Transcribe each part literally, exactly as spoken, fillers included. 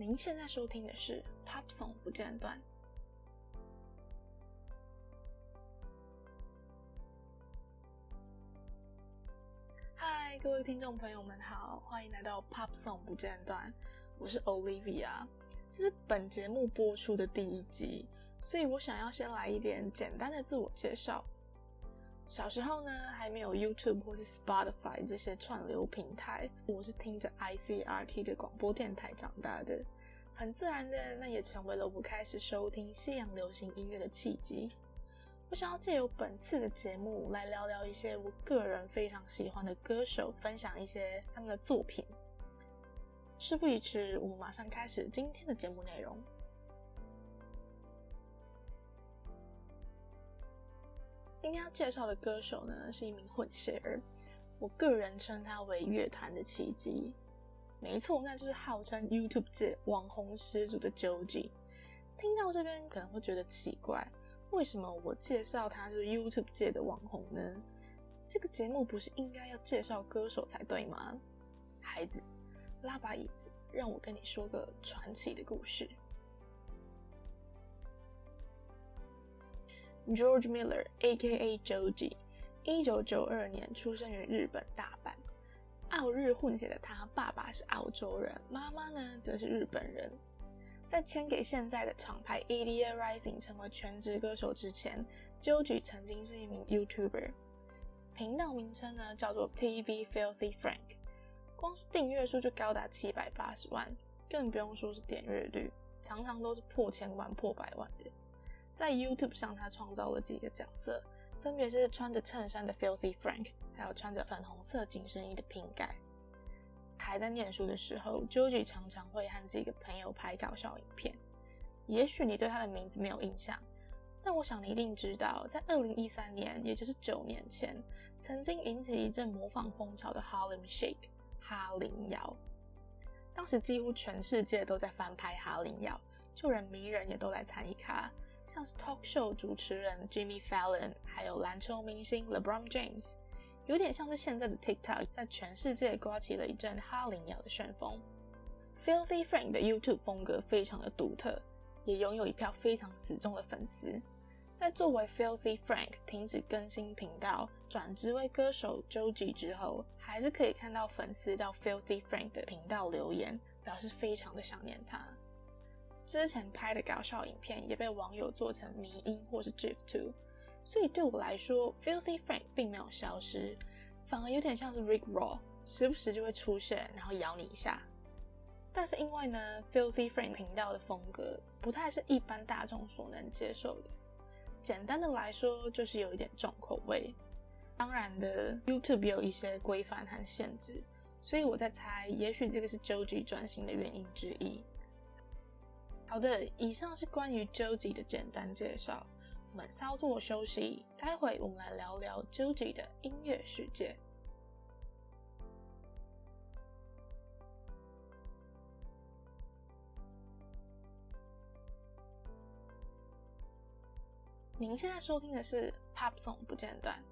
您现在收听的是 Pop Song 不间断。嗨，各位听众朋友们好，欢迎来到 Pop Song 不间断，我是 Olivia。这是本节目播出的第一集，所以我想要先来一点简单的自我介绍。小时候呢，还没有 YouTube 或是 Spotify 这些串流平台，我是听着 I C R T 的广播电台长大的，很自然的，那也成为了我开始收听西洋流行音乐的契机。我想要借由本次的节目来聊聊一些我个人非常喜欢的歌手，分享一些他们的作品。事不宜迟，我们马上开始今天的节目内容。今天要介绍的歌手呢，是一名混血儿，我个人称他为乐坛的奇迹。没错，那就是号称 YouTube 界网红始祖的 Joji。 听到这边可能会觉得奇怪，为什么我介绍他是 YouTube 界的网红呢？这个节目不是应该要介绍歌手才对吗？孩子，拉把椅子，让我跟你说个传奇的故事。George Miller A K A Joji 一九九二年出生于日本大阪，澳日混血的他，爸爸是澳洲人，妈妈呢则是日本人。在签给现在的厂牌 A D A Rising 成为全职歌手之前， Joji 曾经是一名 YouTuber， 频道名称呢叫做 T V Filthy Frank， 光是订阅数就高达七百八十万，更不用说是点阅率，常常都是破千万破百万的。在 YouTube 上他创造了几个角色，分别是穿着衬衫的 Filthy Frank， 还有穿着粉红色紧身衣的 Pink Guy。 还在念书的时候， Joji 常常会和几个朋友拍搞笑影片。也许你对他的名字没有印象，但我想你一定知道，在二零一三年，也就是九年前，曾经引起一阵模仿风潮的 Harlem Shake 哈林摇。当时几乎全世界都在翻拍哈林摇，就连名人也都来参与咖，像是 talk show 主持人 Jimmy Fallon， 还有篮球明星 LeBron James， 有点像是现在的 TikTok 在全世界刮起了一阵哈林摇的旋风。 Filthy Frank 的 YouTube 风格非常的独特，也拥有一票非常死忠的粉丝。在作为 Filthy Frank 停止更新频道，转职为歌手 Joji 之后，还是可以看到粉丝到 Filthy Frank 的频道留言，表示非常的想念他。之前拍的搞笑影片也被网友做成迷因或是 GIF 图，所以对我来说 Filthy Frank 并没有消失，反而有点像是 Rick Roll， 时不时就会出现然后咬你一下。但是因为呢 Filthy Frank 频道的风格不太是一般大众所能接受的，简单的来说就是有一点重口味。当然的 YouTube 也有一些规范和限制，所以我在猜也许这个是 Joji 转型的原因之一。好的，以上是关于 Joji 的简单介绍，我们稍作休息，待会我们来聊聊 Joji 的音乐世界。您现在收听的是 Pop Song 不间断。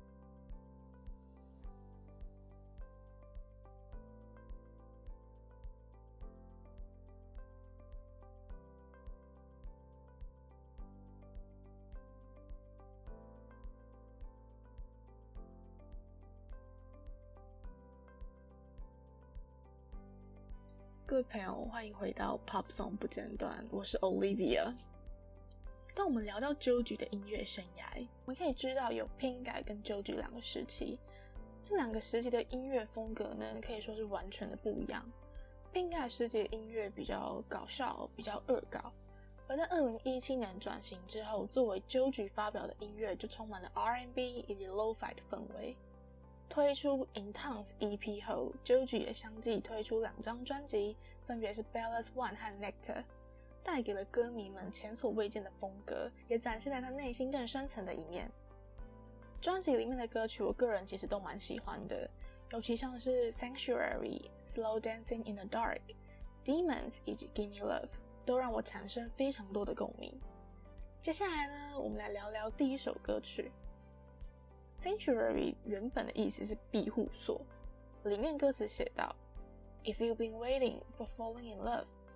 各位朋友，欢迎回到 Pop Song 不间断，我是 Olivia。当我们聊到 Joji 的音乐生涯，我们可以知道有 Pink Guy 跟 Joji 两个时期。这两个时期的音乐风格呢，可以说是完全的不一样。Pink Guy 时期的音乐比较搞笑，比较恶搞，而在二零一七年转型之后，作为 Joji 发表的音乐就充满了 R and B 以及 Lo-Fi 的氛围。推出 Intense E P 后， Joji 也相继推出两张专辑，分别是 Ballast One 和 Nectar， 带给了歌迷们前所未见的风格，也展现了他内心更深层的一面。专辑里面的歌曲我个人其实都蛮喜欢的，尤其像是 Sanctuary、Slow Dancing in the Dark、Demons 以及 Gimme Love 都让我产生非常多的共鸣。接下来呢，我们来聊聊第一首歌曲。Sanctuary 原本的意思是庇护所，里面歌词写道 If you've been waiting for falling in love,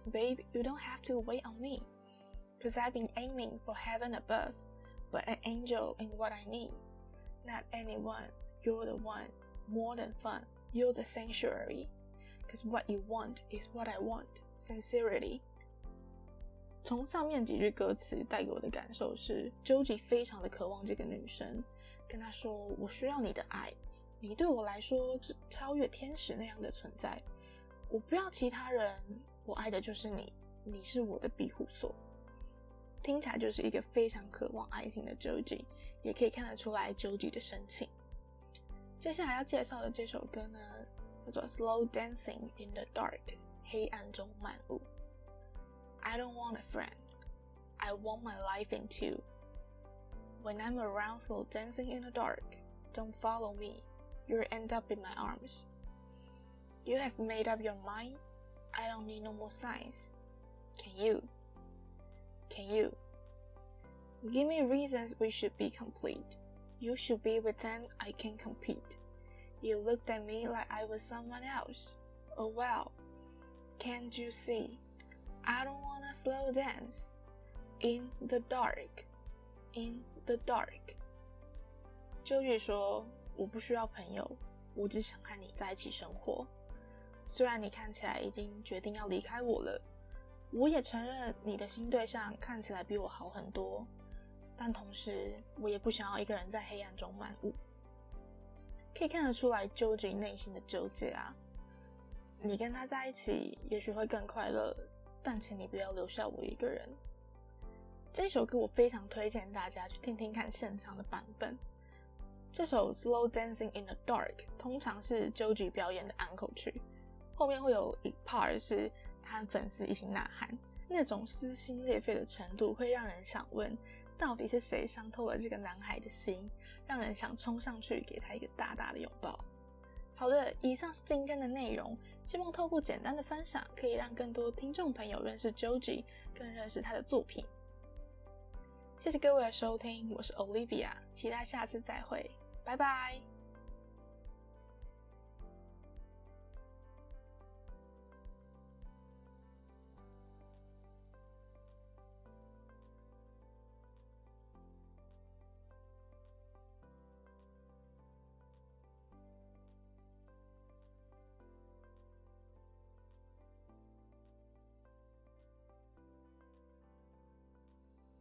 Babe, you don't have to wait on me, cause I've been aiming for heaven above, but an angel ain't what I need. Not anyone, you're the one, more than fun, you're the sanctuary, cause what you want is what I want, sincerity. 从上面几句歌词带给我的感受是 Joji 非常的渴望这个女生，跟她说我需要你的爱，你对我来说是超越天使那样的存在，我不要其他人，我爱的就是你，你是我的庇护所。听起来就是一个非常渴望爱情的 Joji， 也可以看得出来 Joji 的深情。接下来要介绍的这首歌呢，叫做 Slow Dancing in the Dark， 黑暗中漫舞。I don't want a friend, I want my life in two. When I'm around slow dancing in the dark, don't follow me, you'll end up in my arms. You have made up your mind, I don't need no more signs. Can you? Can you? Give me reasons we should be complete. You should be with them, I can compete. You looked at me like I was someone else. Oh wow, can't you see? I don't wanna slow dance. In the dark, in the dark. Joji 说，我不需要朋友，我只想和你在一起生活。虽然你看起来已经决定要离开我了，我也承认你的新对象看起来比我好很多，但同时我也不想要一个人在黑暗中漫舞。可以看得出来 Joji 内心的纠结啊，你跟他在一起也许会更快乐，但请你不要留下我一个人。这首歌我非常推荐大家去听听看现场的版本。这首 Slow Dancing in the Dark 通常是 Joji 表演的安可曲，后面会有一 part 是他和粉丝一起呐喊，那种撕心裂肺的程度会让人想问，到底是谁伤透了这个男孩的心，让人想冲上去给他一个大大的拥抱。好的，以上是今天的内容，希望透过简单的分享，可以让更多听众朋友认识 Joji， 更认识他的作品。谢谢各位的收听，我是 Olivia， 期待下次再会，拜拜。